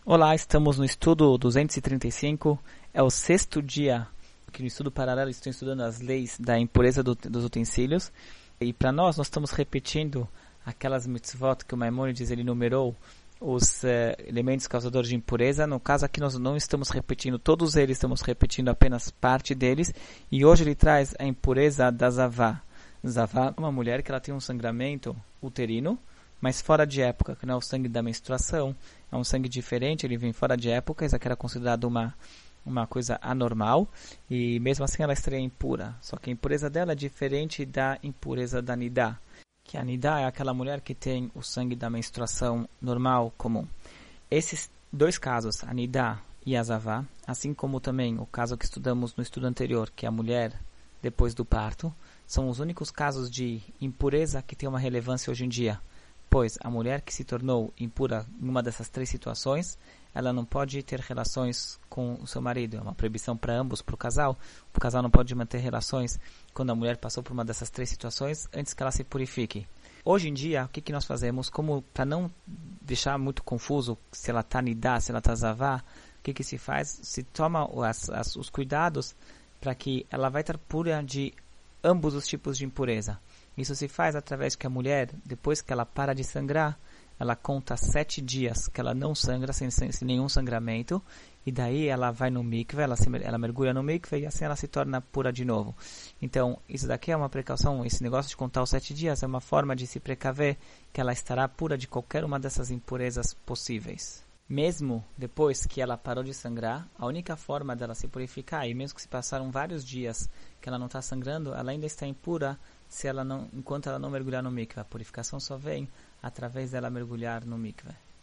Olá, estamos no estudo 235, é o sexto dia que no estudo paralelo estou estudando as leis da impureza dos utensílios. E para nós estamos repetindo aquelas mitzvot que o Maimônides ele numerou, os elementos causadores de impureza. No caso aqui nós não estamos repetindo todos eles, estamos repetindo apenas parte deles. E hoje ele traz a impureza da Zavá. Zavá é uma mulher que ela tem um sangramento uterino, mas fora de época, que não é o sangue da menstruação, é um sangue diferente, ele vem fora de época, isso aqui era considerado uma coisa anormal, e mesmo assim ela estaria impura. Só que a impureza dela é diferente da impureza da Nidá, que a Nidá é aquela mulher que tem o sangue da menstruação normal, comum. Esses dois casos, a Nidá e a Zavá, assim como também o caso que estudamos no estudo anterior, que é a mulher depois do parto, são os únicos casos de impureza que tem uma relevância hoje em dia. Pois a mulher que se tornou impura em uma dessas três situações, ela não pode ter relações com o seu marido. É uma proibição para ambos, para o casal. O casal não pode manter relações quando a mulher passou por uma dessas três situações antes que ela se purifique. Hoje em dia, o que nós fazemos? Como para não deixar muito confuso se ela está nidá, se ela está zavá, o que se faz? Se toma os cuidados para que ela vai estar pura de ambos os tipos de impureza. Isso se faz através que a mulher, depois que ela para de sangrar, ela conta 7 dias que ela não sangra, sem nenhum sangramento, e daí ela vai no mikve, ela mergulha no mikve e assim ela se torna pura de novo. Então, isso daqui é uma precaução, esse negócio de contar os 7 dias é uma forma de se precaver que ela estará pura de qualquer uma dessas impurezas possíveis. Mesmo depois que ela parou de sangrar, a única forma dela se purificar, e mesmo que se passaram vários dias que ela não está sangrando, ela ainda está impura enquanto ela não mergulhar no mikve. A purificação só vem através dela mergulhar no mikve.